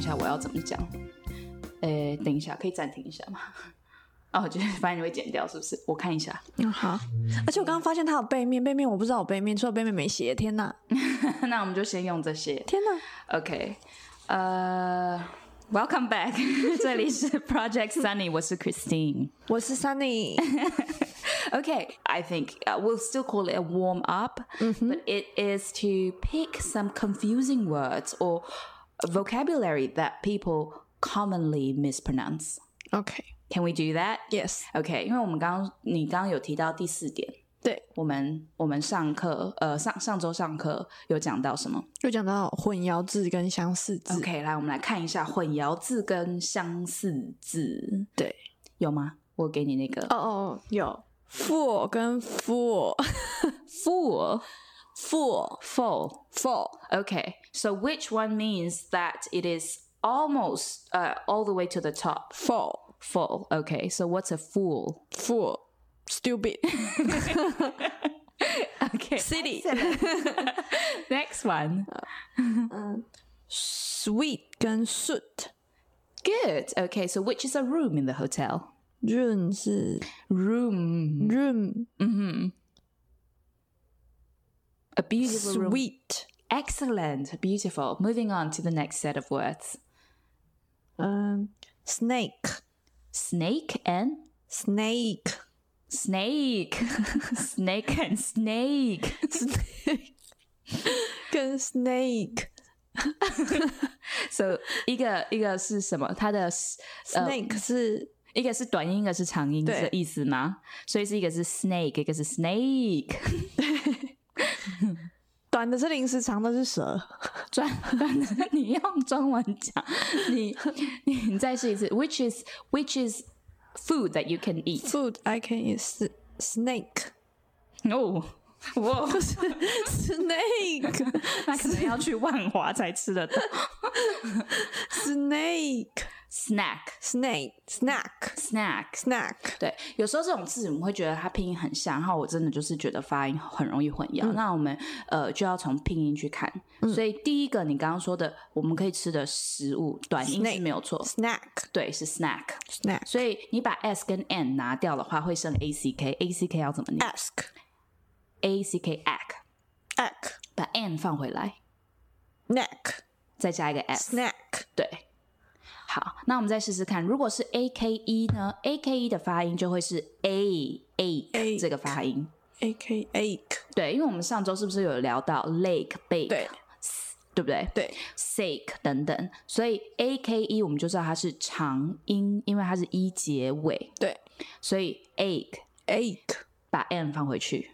下我要怎么讲。等一下，可以暂停一下吗？哦，就是发现你会剪掉，是不是？我看一下。 好。而且我刚刚发现它有背面，背面我不知道有背面，除了背面没写。天哪！ 那我们就先用这些。 天哪 OK， Welcome back 这里是 Project Sunny， 我是 Christine， 我是 Sunny。 Okay, I think we'll still call it a warm up, but it is to pick some confusing words or vocabulary that people commonly mispronounce. OK， Can we do that? Yes. Okay, 因为你刚刚有提到第4点， 对， 我们上课上周上课有讲到什么？ 就讲到混淆字跟相似字。 OK， 来我们来看一下混淆字跟相似字。 对， 有吗？我给你那个有 full 跟 full full full Okay, so which one means that it is almost all the way to the top? Full. Okay, so what's a fool? Stupid. Okay. Silly. Next one. Sweet 跟 suit. Good. Okay, so which is a room in the hotel? Room 是 Room. A beautiful room. Sweet. Excellent. Beautiful. Moving on to the next set of words. Snake. Snake and Snake. snake. Snake and snake. Snake 跟 snake. So 一个是什么？它的 Snake 是一个是短音，一个是长音，是这意思吗？所以是一个是 snake， 一个是 snake。 短的是零食，长的是蛇。 短的，你用中文讲，你再试一次。Which is food that you can eat? Food I can eat snake. Oh, 哇， 不是 snake， 那可能要去万华才吃得到。 snake Snack, snack。 对，有时候这种字我们会觉得它拼音很像，然后我真的就是觉得发音很容易混淆。那我们就要从拼音去看。所以第一个你刚刚说的我们可以吃的食物，短音是没有错 snack 对，是 snack。 snack 所以你把 s 跟 n 拿掉的话，会剩 ack 要怎么念 ack ask 把 n 放回来 neck 再加一个 s snack 对。好，那我们再试试看，如果是 ake 呢 ake 的发音就会是 a 这个发音 ache 对，因为我们上周是不是有聊到 lake bake 对不对？ 对 sake 等等，所以 ake 我们就知道它是长音，因为它是一结尾， 对， 所以 ache 把 n 放回去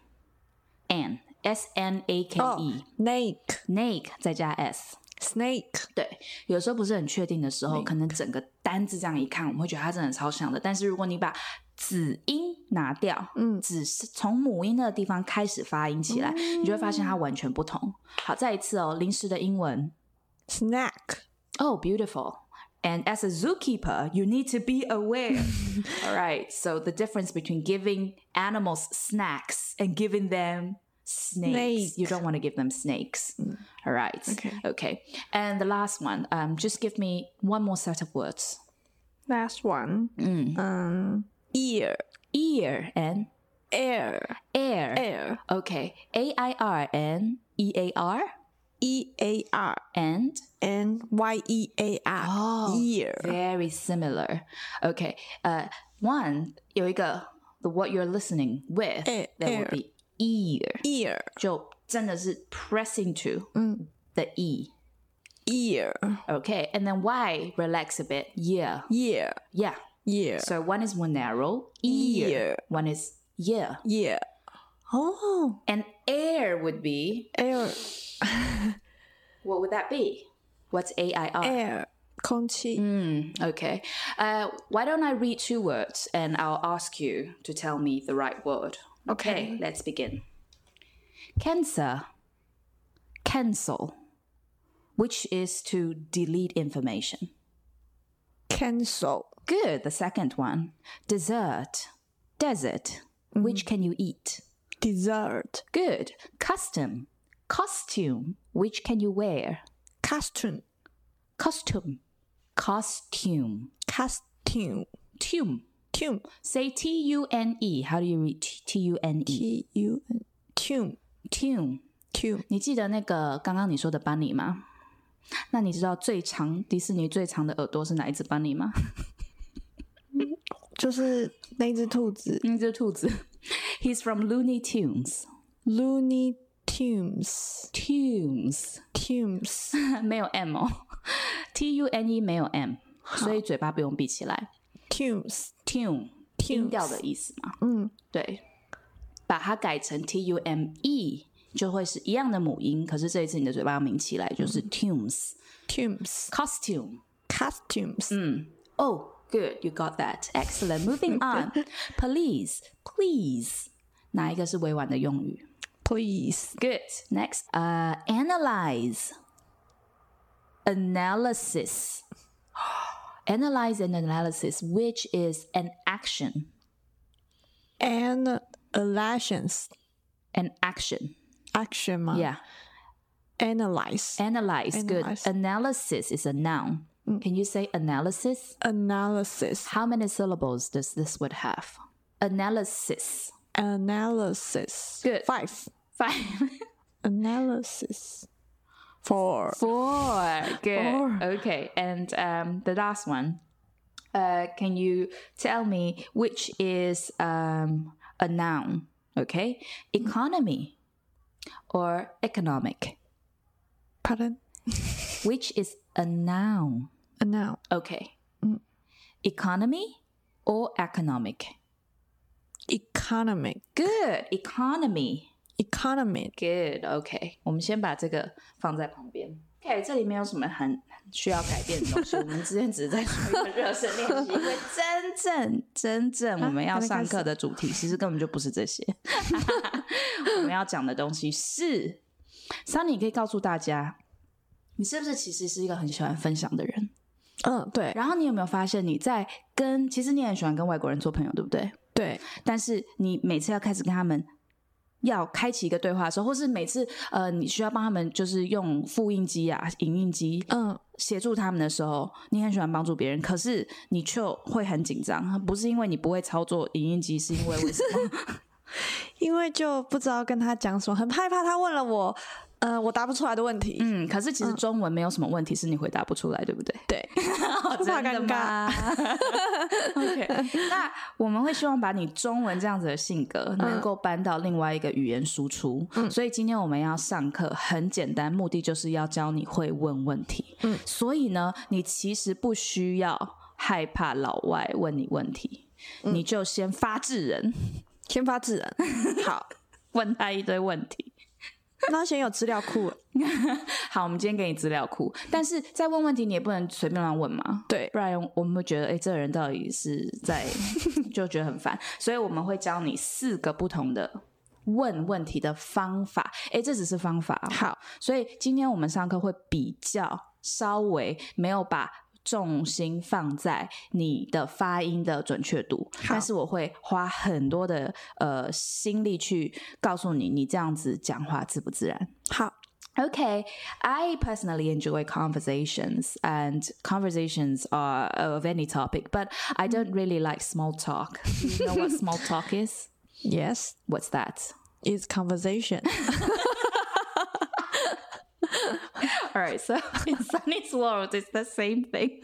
snake snake 再加 s snake 对，有时候不是很确定的时候，可能整个单字这样一看，我们会觉得它真的超像的。但是如果你把子音拿掉，只是从母音的地方开始发音起来，你就会发现它完全不同。好，再一次哦，零食的英文 snack Oh, beautiful. And as a zookeeper, you need to be aware. All right. So the difference between giving animals snacks and giving them snakes. You don't want to give them snakes. All right. Okay. And the last one, just give me one more set of words. last one ear And air Okay. AIR and EAR EAR and NYEAR ear very similar. Okay. One 有一个 the what you're listening with that will be ear 就真的是 pressing to the E ear okay and then Y relax a bit yeah so one is more narrow ear one is yeah oh and air would be air what would that be what's AIR air 空气 okay why don't I read 2 words and I'll ask you to tell me the right word okay let's begin cancer cancel which is to delete information cancel good the second one desert desert which can you eat dessert good costume which can you wear costume costume Costume. Costume. Tune. Say T-U-N-E. How do you read T-U-N-E? Tune. Tune. 你记得那个刚刚你说的 bunny 吗？那你知道迪士尼最长的耳朵是哪一只 bunny 吗？ 就是那只兔子。 那只兔子。He's from Looney Tunes. Looney Tunes. 没有 M 哦。T-U-N-E 没有 M， 所以嘴巴不用闭起来。Tune 音调的意思嘛。对，把它改成 T-U-M-E 就会是一样的母音，可是这一次你的嘴巴要抿起来，就是 tunes. Costumes. Oh, good, you got that. Excellent. Moving on. Please. 哪一个是委婉的用语？ Please. Good. Next. Analyze. Analysis. Analyze and analysis, which is an action. An action. Action 吗？ Yeah. Analyze. Good. Analysis is a noun. Can you say analysis? Analysis. How many syllables does this word have? Analysis. Good. 5. Analysis. 4. Good. 4. Okay. And the last one. Can you tell me which is a noun? Okay. Economy or economic? Pardon? Which is a noun? A noun. Okay. Economy or economic? Economic. Good. Economy. Good. Okay. 我们先把这个放在旁边。Okay, 这里没有什么很需要改变的东西，我们之前只是在说一个热身练习，因为真正我们要上课的主题其实根本就不是这些。我们要讲的东西是 Sunny 可以告诉大家，你是不是其实是一个很喜欢分享的人？ 对。 然后你有没有发现你在其实你很喜欢跟外国人做朋友，对不对？ 对。 但是你每次要开始跟他们要开启一个对话的时候，或是每次你需要帮他们就是用复印机啊、影印机协助他们的时候，你很喜欢帮助别人，可是你却会很紧张，不是因为你不会操作影印机，是因为什么？ 因为就不知道跟他讲什么，很害怕他问了我答不出来的问题。 可是其实中文没有什么问题是你回答不出来，对不对？ 对。不怕尴尬。 OK， 那我们会希望把你中文这样子的性格能够搬到另外一个语言输出。所以今天我们要上课很简单，目的就是要教你会问问题。所以呢，你其实不需要害怕老外问你问题，你就先发制人。好，问他一堆问题。 那先有资料库了。 好，我们今天给你资料库，但是在问问题你也不能随便乱问嘛， 对， 不然我们会觉得这个人到底是在就觉得很烦，所以我们会教你4个不同的问问题的方法。这只是方法。 好， 所以今天我们上课会比较稍微没有把重心放在你的发音的准确度，但是我会花很多的心力去告诉你，你这样子讲话自不自然。 好。 Okay, I personally enjoy conversations, and conversations are of any topic, but I don't really like small talk. Do you know what small talk is? Yes. What's that? It's conversation. All right, so in Sunny's world, it's the same thing.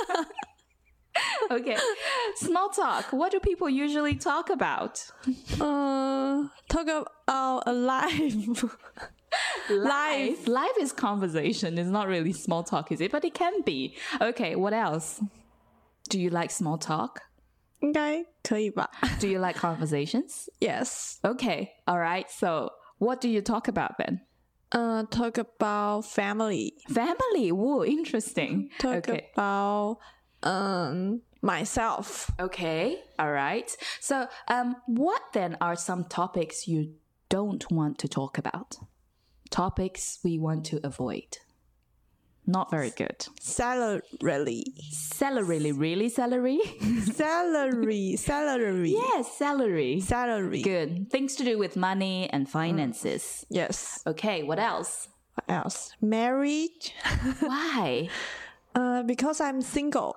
Okay, small talk. What do people usually talk about? Talk about life. Life is conversation. It's not really small talk, is it? But it can be. Okay, what else? Do you like small talk? 应该可以吧。 Do you like conversations? Yes. Okay, all right. So what do you talk about then? Talk about family. Family? Whoa, interesting. Talk about myself. Okay, all right. So what then are some topics you don't want to talk about? Topics we want to avoid. Not very good. Salary. Really? Really salary? Salary. Yes, salary. Salary. Good. Things to do with money and finances. Yes. Okay, what else? What else? Marriage. Why? Because I'm single.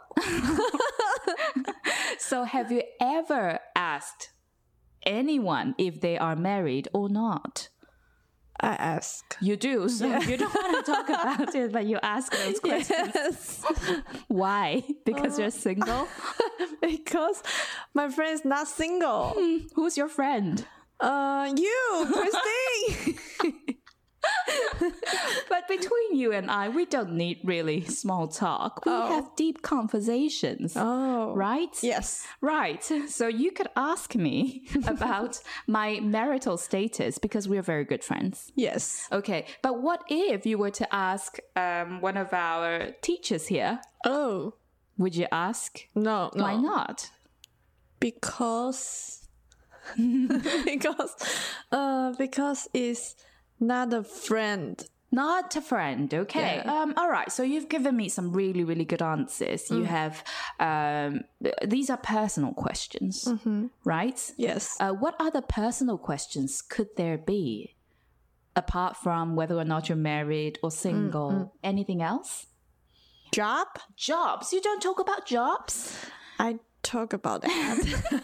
So have you ever asked anyone if they are married or not? I ask. You do, so you don't want to talk about it, but you ask those questions. Yes. Why? Because you're single? Because my friend's not single. Who's your friend? You, Christine. But between you and I, we don't need really small talk. We have deep conversations. Oh. Right? Yes. Right. So you could ask me about my marital status because we're very good friends. Yes. Okay. But what if you were to ask one of our teachers here? Oh. Would you ask? No. Why not? Because it's not a friend. Not a friend, okay. Yeah. All right, so you've given me some really, really good answers. You have, these are personal questions, right? Yes. What other personal questions could there be? Apart from whether or not you're married or single, anything else? Job? Jobs. You don't talk about jobs? I talk about that.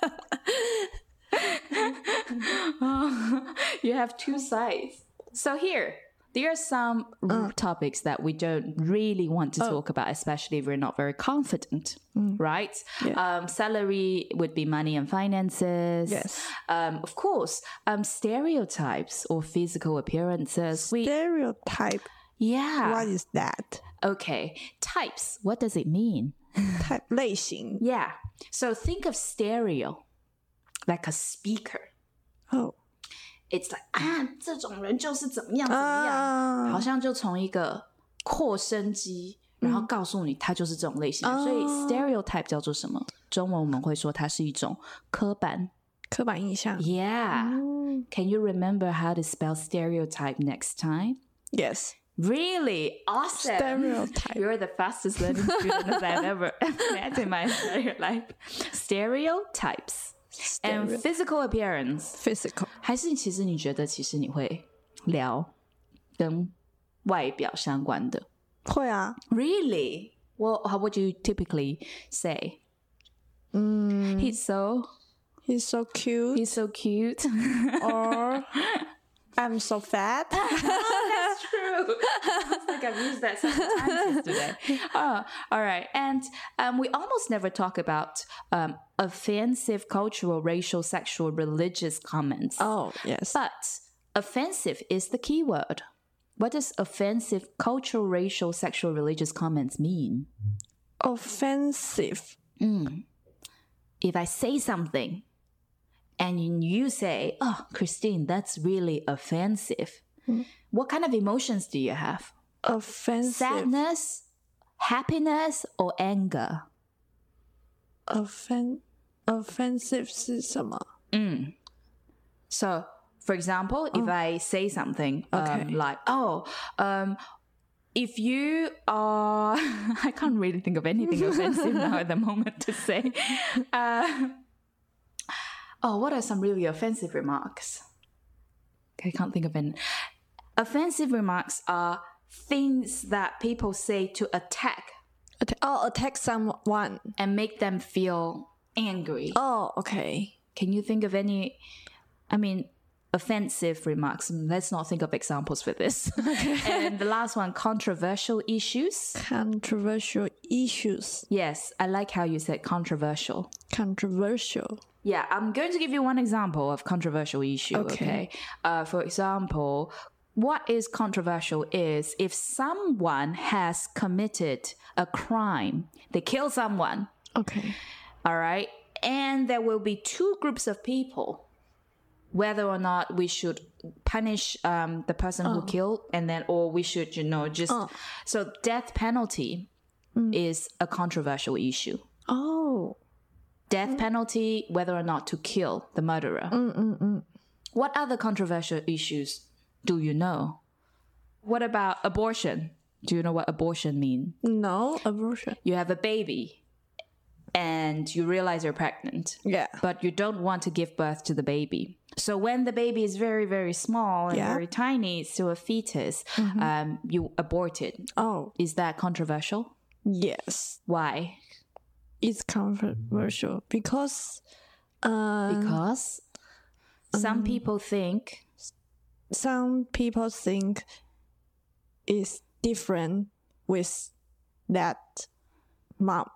You have two sides. So here are some topics that we don't really want to talk about, especially if we're not very confident, right? Yeah. Salary would be money and finances. Yes. Of course, stereotypes or physical appearances. Stereotype. Yeah. What is that? Okay. Types. What does it mean? Type 类型. Yeah. So think of stereo, like a speaker. Oh. It's like 这种人就是怎么样怎么样，好像就从一个扩声机，然后告诉你他就是这种类型的。所以 stereotype 叫做什么？中文我们会说它是一种刻板印象. Yeah. Can you remember how to spell stereotype next time? Yes. Really? Awesome. Stereotype. You're the fastest learning student I've ever met in my entire life. Stereotypes. And physical appearance. Physical. 还是其实你觉得其实你会聊跟外表相关的？ 会啊。 Really? Well, how would you typically say? He's so cute. He's so cute. Or I'm so fat. That's true. I think I've used that several times yesterday. All right. And we almost never talk about offensive cultural, racial, sexual, religious comments. Oh, yes. But offensive is the key word. What does offensive cultural, racial, sexual, religious comments mean? Offensive. If I say something and you say, oh, Christine, that's really offensive. What kind of emotions do you have? Offensive. Sadness, happiness, or anger? Offensive 是什么? So, for example, if I say something like, if you are... I can't really think of anything offensive now at the moment to say. What are some really offensive remarks? I can't think of any. Offensive remarks are things that people say to attack. Attack someone. And make them feel angry. Oh, okay. Can you think of any, offensive remarks? Let's not think of examples for this. Okay. And the last one, controversial issues. Controversial issues. Yes, I like how you said controversial. Controversial. Yeah, I'm going to give you one example of controversial issue, okay? For example, what is controversial is if someone has committed a crime, they kill someone. Okay. All right? And there will be two groups of people, whether or not we should punish the person who killed, and then, or we should, So death penalty is a controversial issue. Oh. Death penalty, whether or not to kill the murderer. What other controversial issues do you know? What about abortion? Do you know what abortion means? No, abortion. You have a baby and you realize you're pregnant. Yeah. But you don't want to give birth to the baby. So when the baby is very, very small and very tiny, it's still a fetus, you abort it. Oh. Is that controversial? Yes. Why? It's controversial because some people think it's different with that mom.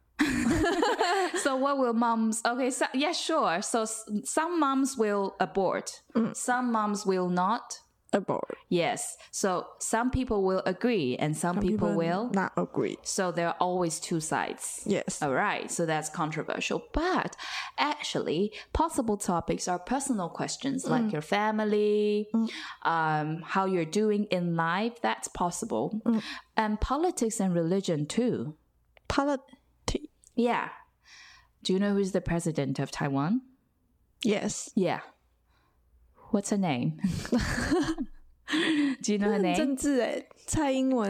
So what will moms... Okay, so, yeah, sure. So some moms will abort. Some moms will not abort. Yes. So some people will agree and some people will not agree. So there are always two sides. Yes. All right. So that's controversial. But actually, possible topics are personal questions like your family, how you're doing in life. That's possible. And politics and religion too. Politics. Yeah. Do you know who's the president of Taiwan? Yes. Yeah. What's her name? Do you know her name? 政治耶，蔡英文。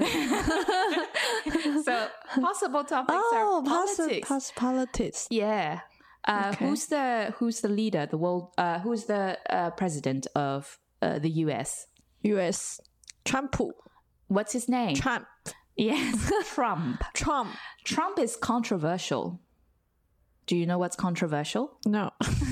So possible topics are politics. Politics. Yeah. Okay. Who's the leader? The world. Who's the president of the U.S.? U.S. Trump. What's his name? Trump. Yes, Trump. Trump is controversial. Do you know what's controversial? No.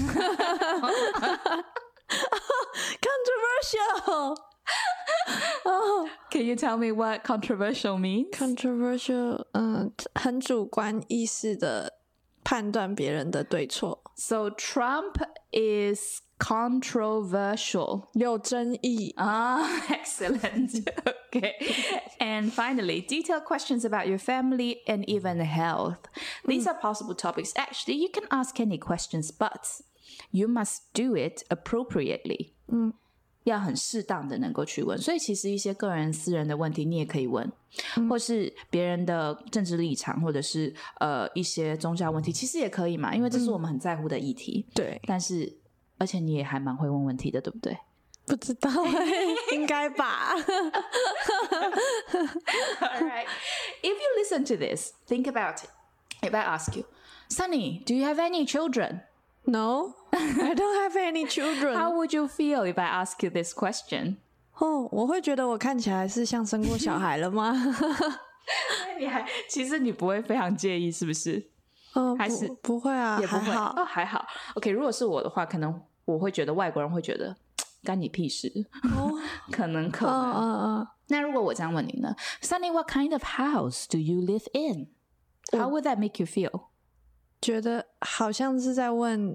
Controversial. Oh, can you tell me what controversial means? Controversial. 很主观意识的判断别人的对错。 So Trump is controversial. 有争议。 Excellent. Okay. And finally, detailed questions about your family and even health. These are possible topics. Actually, you can ask any questions, but you must do it appropriately. 要很适当的能够去问，所以其实一些个人私人的问题你也可以问，或是别人的政治立场，或者是一些宗教问题，其实也可以嘛，因为这是我们很在乎的议题。 对， 但是而且你也还蛮会问问题的，对不对？ 不知道应该吧。 Alright, if you listen to this, think about it. If I ask you, Sunny, do you have any children? No, I don't have any children. How would you feel if I ask you this question? 我会觉得我看起来是像生过小孩了吗？ 其实你不会非常介意是不是？还是不会啊， 也不会还好哦，还好。OK， 如果是我的话，可能我会觉得外国人会觉得干你屁事。可能。那如果我这样问你呢 ，Sunny, what kind of house do you live in? How would that make you feel? 觉得好像是在问，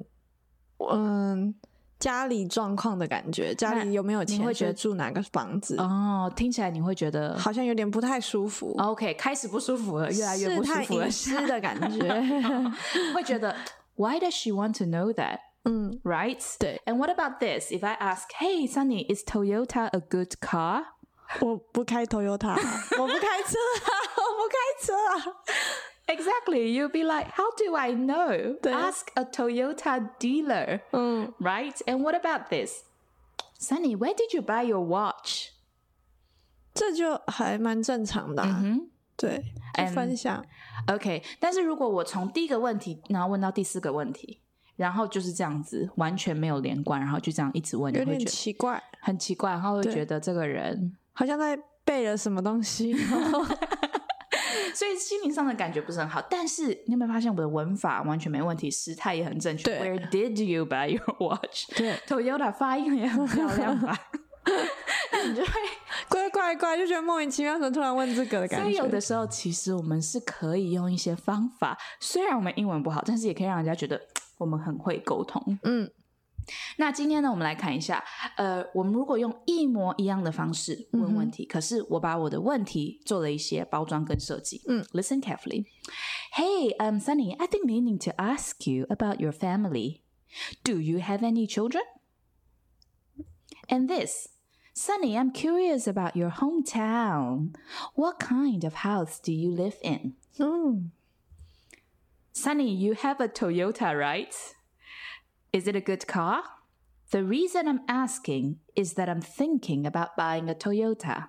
家里状况的感觉，家里有没有钱，觉得住哪个房子？哦， 听起来你会觉得好像有点不太舒服。 OK， 开始不舒服了，越来越不舒服了， 试探隐私的感觉， 会觉得 Why does she want to know that? Right? 对。 And what about this? If I ask, Hey, Sunny, is Toyota a good car? 我不开 Toyota， 我不开车啊。 Exactly. You'll be like, how do I know? Ask a Toyota dealer. Right? And what about this? Sunny, where did you buy your watch? 这就还蛮正常的对，就分享。 OK， 但是如果我从第一个问题然后问到第四个问题，然后就是这样子完全没有连贯，然后就这样一直问， 有点奇怪， 很奇怪，然后会觉得这个人好像在背了什么东西。 所以心灵上的感觉不是很好，但是你有没有发现我的文法完全没问题，时态也很正确。Where did you buy your watch? 对 ，Toyota 发音也很漂亮吧？你就会怪，就觉得莫名其妙，怎么突然问这个的感觉。 所以有的时候，其实我们是可以用一些方法，虽然我们英文不好，但是也可以让人家觉得我们很会沟通。那今天呢，我们来看一下，我们如果用一模一样的方式问问题，可是我把我的问题做了一些包装跟设计。Listen carefully. Hey, Sunny, I've been meaning to ask you about your family. Do you have any children? And this, Sunny, I'm curious about your hometown. What kind of house do you live in? Sunny, you have a Toyota, right?Is it a good car? The reason I'm asking is that I'm thinking about buying a Toyota.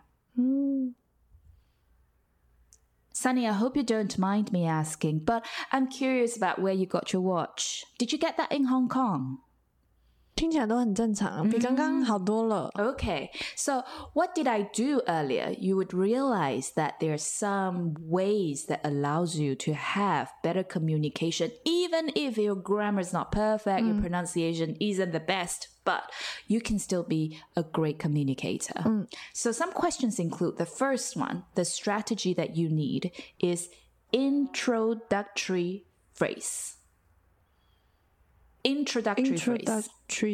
Sunny, I hope you don't mind me asking, but I'm curious about where you got your watch. Did you get that in Hong Kong? 听起来都很正常，比刚刚好多了。 Okay, so what did I do earlier? You would realize that there are some ways that allows you to have better communication, even if your grammar is not perfect, your pronunciation isn't the best, but you can still be a great communicator. So some questions include the first one, the strategy that you need is introductory phrase. Introductory phrase.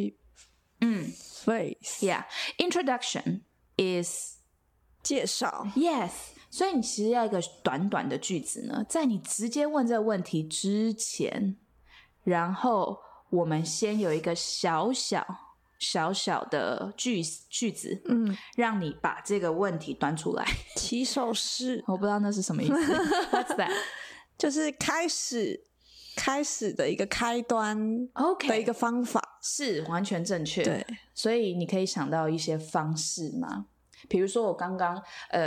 Phrase. Yeah. Introduction is 介绍 yes. 所以你其实要一个短短的句子呢，在你直接问这个问题之前，然后我们先有一个小小的句子，让你把这个问题端出来。 起手式， 我不知道那是什么意思。What's that？ 就是开始的一个开端 OK 的一个方法， 是完全正确。 对， 所以你可以想到一些方式吗？比如说我刚刚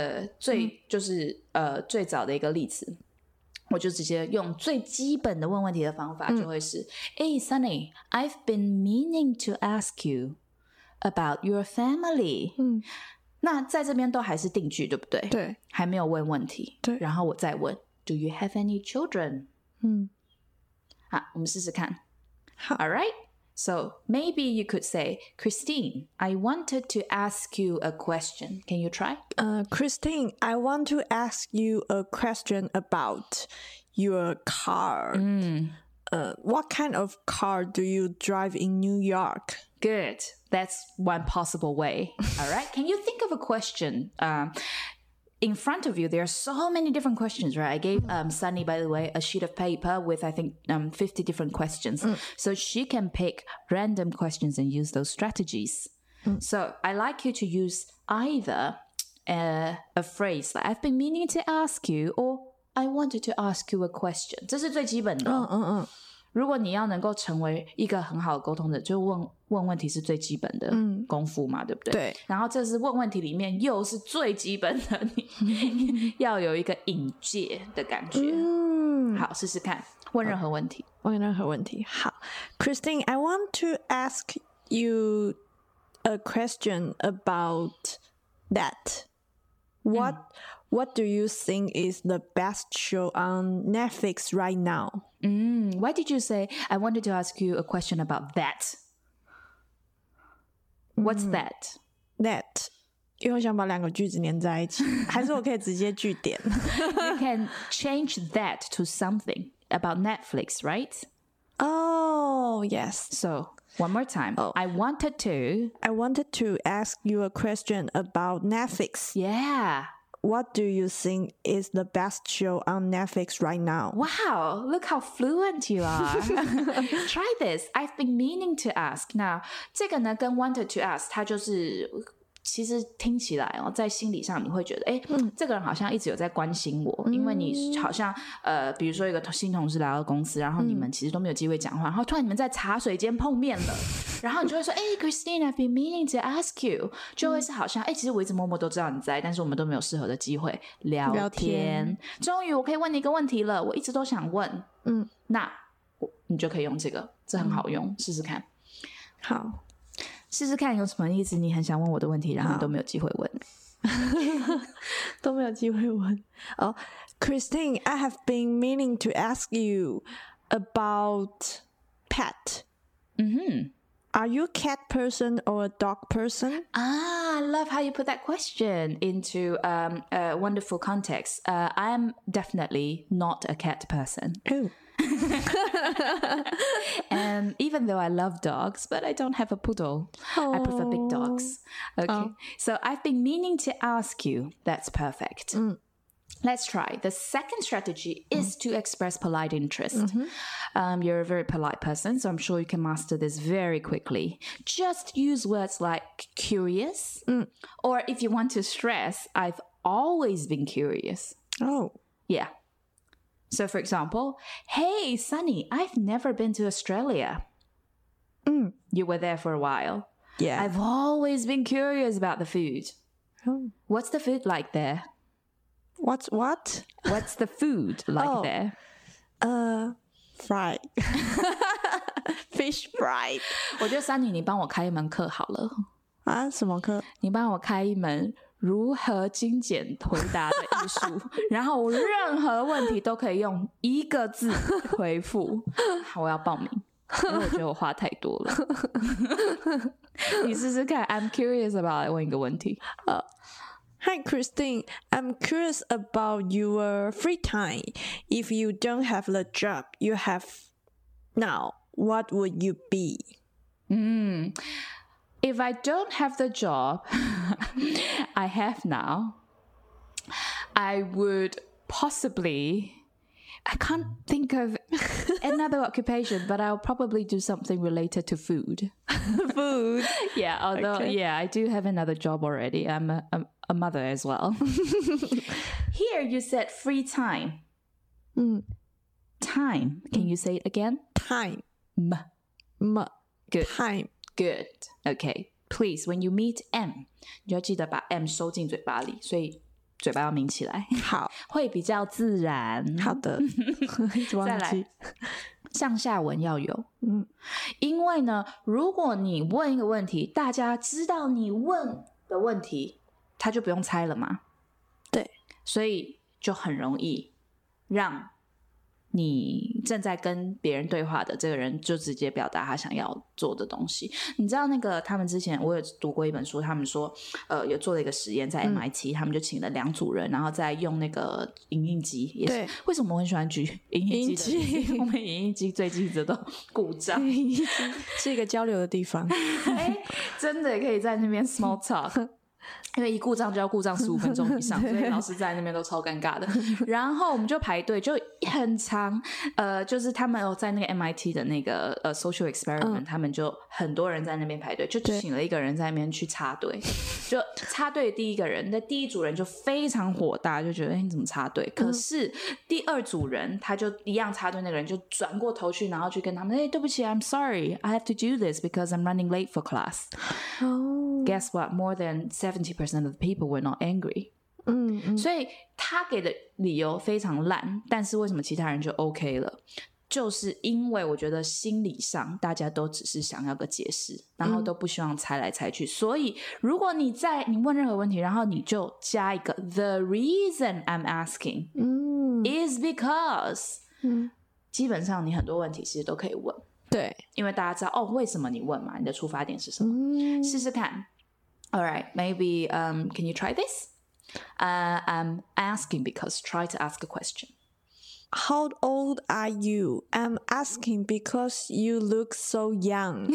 最早的一个例子，我就直接用最基本的问问题的方法，就会是Hey Sunny, I've been meaning to ask you about your family. 那在这边都还是定句，对不对？ 对， 还没有问问题。 对， 然后我再问 Do you have any children? 好，我们试试看。 好 All right? So maybe you could say, Christine, I wanted to ask you a question. Can you try? Christine, I want to ask you a question about your car. What kind of car do you drive in New York? Good. That's one possible way. All right. Can you think of a question? In front of you, there are so many different questions, right? I gave Sunny, by the way, a sheet of paper with, I think, 50 different questions. So she can pick random questions and use those strategies. So I like you to use either a phrase like, I've been meaning to ask you, or I wanted to ask you a question. 这是最基本的。如果你要能够成为一个很好的沟通者，就问问题是最基本的功夫嘛，对不对？ 对。 然后这是问问题里面又是最基本的，你要有一个引介的感觉。好，试试看，问任何问题。 问任何问题。好 ，Christine, I want to ask you a question about that. What do you think is the best show on Netflix right now? Why did you say I wanted to ask you a question about that? What's that? That. 因为我想把两个句子连在一起，还是我可以直接句点 You can change that to something about Netflix, right? Oh, yes. So, one more time. I wanted to ask you a question about Netflix. Yeah. What do you think is the best show on Netflix right now? Wow, look how fluent you are. Try this. I've been meaning to ask. Now, 这个呢跟 wanted to ask 它就是其实听起来哦，在心理上你会觉得，这个人好像一直有在关心我，因为你好像比如说一个新同事来到公司，然后你们其实都没有机会讲话，然后突然你们在茶水间碰面了，然后你就会说，Christine, I've been meaning to ask you， 就会是好像，其实我一直默默都知道你在，但是我们都没有适合的机会聊天。终于我可以问你一个问题了，我一直都想问，那你就可以用这个，这很好用，试试看。 好。 试试看有什么意思？你很想问我的问题，然后都没有机会问， 都没有机会问。Christine, I have been meaning to ask you about pet. Are you a cat person or a dog person? I love how you put that question into a wonderful context. I am definitely not a cat person. Oh. And even though I love dogs, but I don't have a poodle. I prefer big dogs. Okay. So I've been meaning to ask you. That's perfect. Let's try. The second strategy is to express polite interest. You're a very polite person, so I'm sure you can master this very quickly. Just use words like curious, or if you want to stress, I've always been curious. Oh. Yeah. So, for example, hey, Sunny, I've never been to Australia. You were there for a while. Yeah. I've always been curious about the food. Oh. What's the food like there? What? What's the food like there? Fried. fish fry。 我觉得珊妮，你帮我开一门课好了。 啊？什么课？ 你帮我开一门如何精简回答的艺术，然后我任何问题都可以用一个字回复。我要报名，因为我觉得我话太多了。你试试看 I'm curious about 问一个问题。 Hi Christine, I'm curious about your free time. If you don't have the job you have now, what would you be? If I don't have the job I have now, I would possibly, I can't think of another occupation, but I'll probably do something related to food. Food? Yeah, although, Okay. yeah, I do have another job already. I'm a mother as well. Here you said free time. Time. Can you say it again? Time. Good. Time. Good. Okay. Please, when you meet M, 你就要记得把 M 收进嘴巴里，所以嘴巴要抿起来， 好， 会比较自然。 好的。一直忘记。 再来，上下文要有。因为呢，如果你问一个问题，大家知道你问的问题，他就不用猜了嘛。 对， 所以就很容易让你正在跟别人对话的这个人就直接表达他想要做的东西。你知道那个他们之前我有读过一本书，他们说有做了一个实验在 MIT，他们就请了2组人，然后再用那个影印机，也是对， 为什么我很喜欢举影印机的例子？我们影印机最近一直都故障， 是一个交流的地方。 真的也可以在那边 small talk。因为一故障就要故障15分钟以上，所以老师在那边都超尴尬的。然后我们就排队，就很长。就是他们有在那个 MIT 的那个social experiment，他们就很多人在那边排队，就请了一个人在那边去插队。就插队的第一个人，那第一组人就非常火大，就觉得你怎么插队？可是第2组人他就一样插队，那个人就转过头去，然后去跟他们，对不起 ，I'm sorry, I have to do this because I'm running late for class. Guess what? More than 70% of the people were not angry. 所以他给的理由非常烂，但是为什么其他人就 OK 了？就是因为我觉得心理上大家都只是想要个解释，然后都不希望猜来猜去。所以如果你问任何问题，然后你就加一个 The reason I'm asking is because，基本上你很多问题其实都可以问。 对， 因为大家知道为什么你问嘛，你的出发点是什么？试试看。All right, maybe can you try this? I'm asking because try to ask a question. How old are you? I'm asking because you look so young.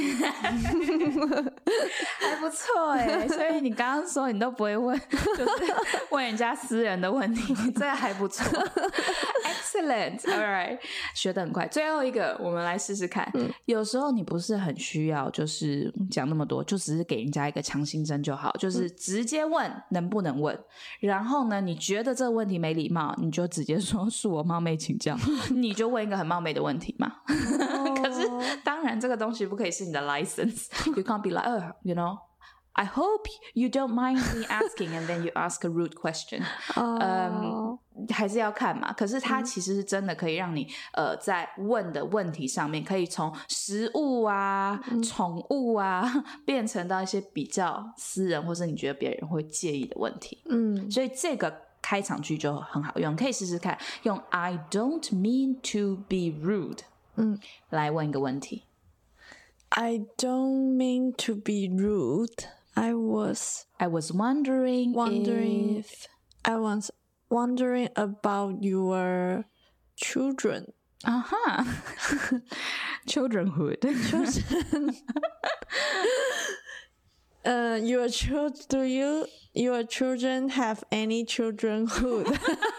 还不错耶，所以你刚刚说你都不会问，就是问人家私人的问题，这还不错。Excellent, all right， 学得很快。最后一个，我们来试试看。有时候你不是很需要，就是讲那么多，就只是给人家一个强心针就好，就是直接问能不能问。然后呢，你觉得这个问题没礼貌，你就直接说恕我冒昧请教，你就问一个很冒昧的问题嘛。可是当然这个东西不可以是你的 license. You can't be like, you know, I hope you don't mind me asking and then you ask a rude question. 还是要看嘛。可是它其实是真的可以让你在问的问题上面可以从食物啊、宠物啊变成到一些比较私人或是你觉得别人会介意的问题。所以这个开场句就很好用，可以试试看用 I don't mean to be rude 来问一个问题。 I don't mean to be rude. I was wondering if I was wondering about your children. Childrenhood. Do your children have any childrenhood?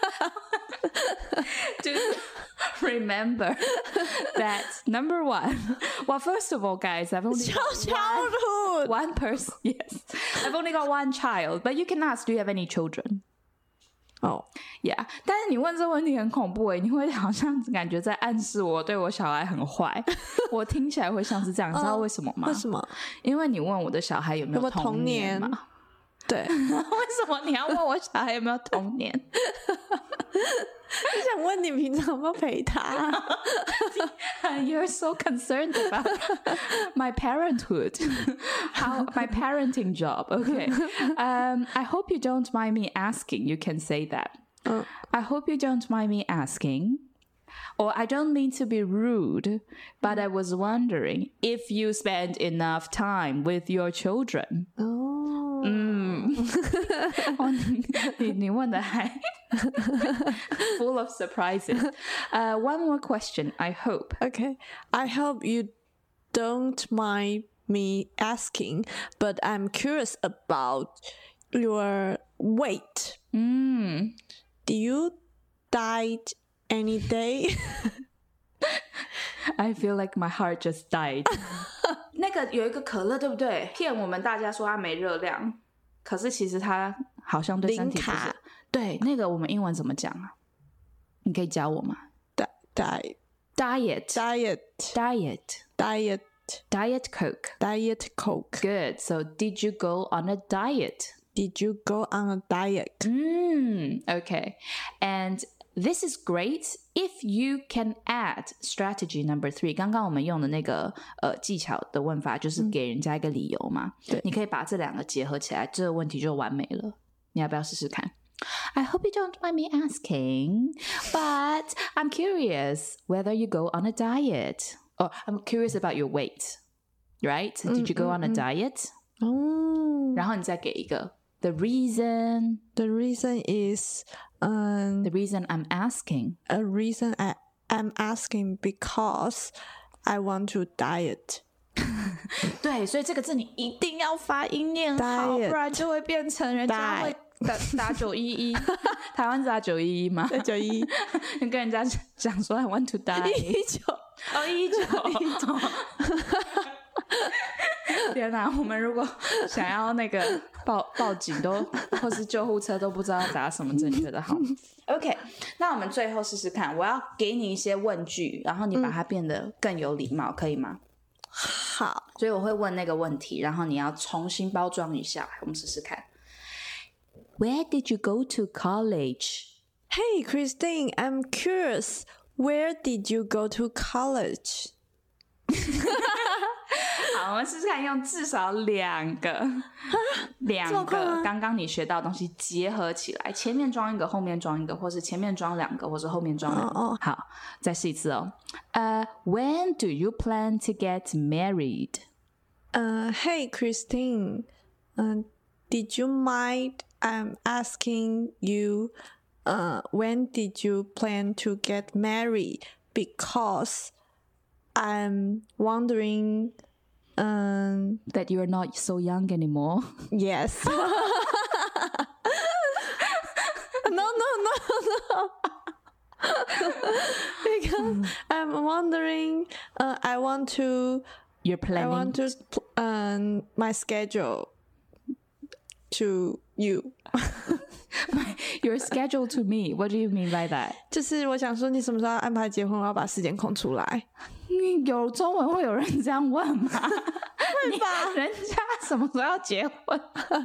Remember that number one. Well, first of all, guys, I've only childhood. one person. Yes, I've only got one child, but you can ask, do you have any children? Oh, yeah. 但是你问这问题很恐怖耶，你会好像感觉在暗示我对我小孩很坏。我听起来会像是这样，你知道为什么吗？ 为什么？ 因为你问我的小孩有没有童年嘛？ 对。 为什么你要问我小孩有没有童年？ 想问你平常有没有陪他 You're so concerned about my parenthood. How my parenting job. Okay. I hope you don't mind me asking. You can say that. I hope you don't mind me asking. Or I don't mean to be rude, but I was wondering if you spend enough time with your children. 你问的还 full of surprises. One more question, I hope. Okay. I hope you don't mind me asking, but I'm curious about your weight. Do you diet any day? I feel like my heart just died. 那个有一个可乐，对不对？骗我们大家说它没热量，可是其实它好像对身体不是。 零卡。 对，那个我们英文怎么讲啊？你可以教我吗？ Diet Coke. Good. So did you go on a diet? Did you go on a diet? Okay. And this is great if you can add strategy number 3. 刚刚我们用的那个技巧的问法就是给人家一个理由嘛。 对， 你可以把这两个结合起来，这个问题就完美了。你要不要试试看？ I hope you don't mind me asking, but I'm curious whether you go on a diet. Or I'm curious about your weight, right? Did you go on a diet? 然后你再给一个 The reason is The reason I'm asking. A reason I'm asking because I want to diet. 对，所以这个字你一定要发音念好， Diet. 不然就会变成人家会打911。台湾是打911吗 911 你跟人家讲说 I want to die 119天哪，我们如果想要那个报警都或是救护车都不知道打什么正确的号。OK， 那我们最后试试看，我要给你一些问句，然后你把它变得更有礼貌，可以吗？ 好， 所以我会问那个问题，然后你要重新包装一下，我们试试看。Where did you go to college? Hey Christine, I'm curious. Where did you go to college? 好，我们试试看用至少两个刚刚你学到的东西结合起来，前面装一个，后面装一个，或是前面装2个，或是后面装2个。好，再试一次哦。When do you plan to get married? Hey Christine, did you mind I'm asking you when did you plan to get married? Because I'm wondering that you're not so young anymore. Yes. No. Because I'm wondering I want to my schedule to you. Your schedule to me. What do you mean by that? 就是我想说你什么时候要安排结婚，我要把时间空出来。 有中文会有人这样问吗？ 会吧？ 人家什么时候要结婚？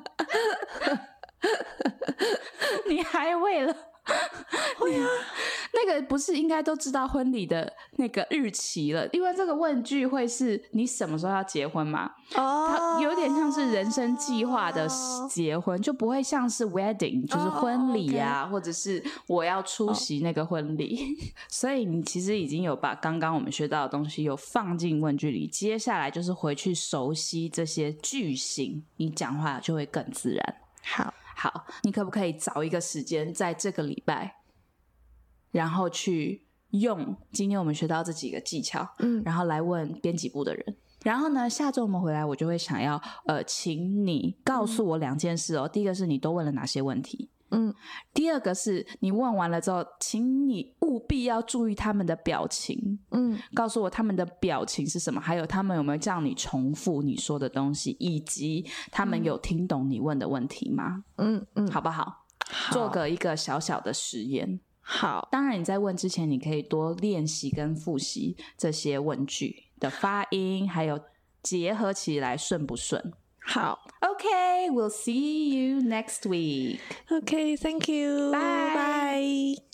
你还为了会啊？那个不是应该都知道婚礼的那个日期了？因为这个问句会是你什么时候要结婚嘛？它有点像是人生计划的结婚，就不会像是 wedding， 就是婚礼啊，或者是我要出席那个婚礼。所以你其实已经有把刚刚我们学到的东西有放进问句里，接下来就是回去熟悉这些句型，你讲话就会更自然。好，你可不可以找一个时间在这个礼拜，然后去用今天我们学到这几个技巧，然后来问编辑部的人。然后呢，下周我们回来，我就会想要请你告诉我2件事哦。第一个是你都问了哪些问题，第二个是你问完了之后，请你务必要注意他们的表情，告诉我他们的表情是什么，还有他们有没有叫你重复你说的东西，以及他们有听懂你问的问题吗？好不好？做一个小小的实验。 好， 当然你在问之前，你可以多练习跟复习这些问句的发音，还有结合起来顺不顺。 好 Okay, we'll see you next week. Okay, thank you. Bye. Bye.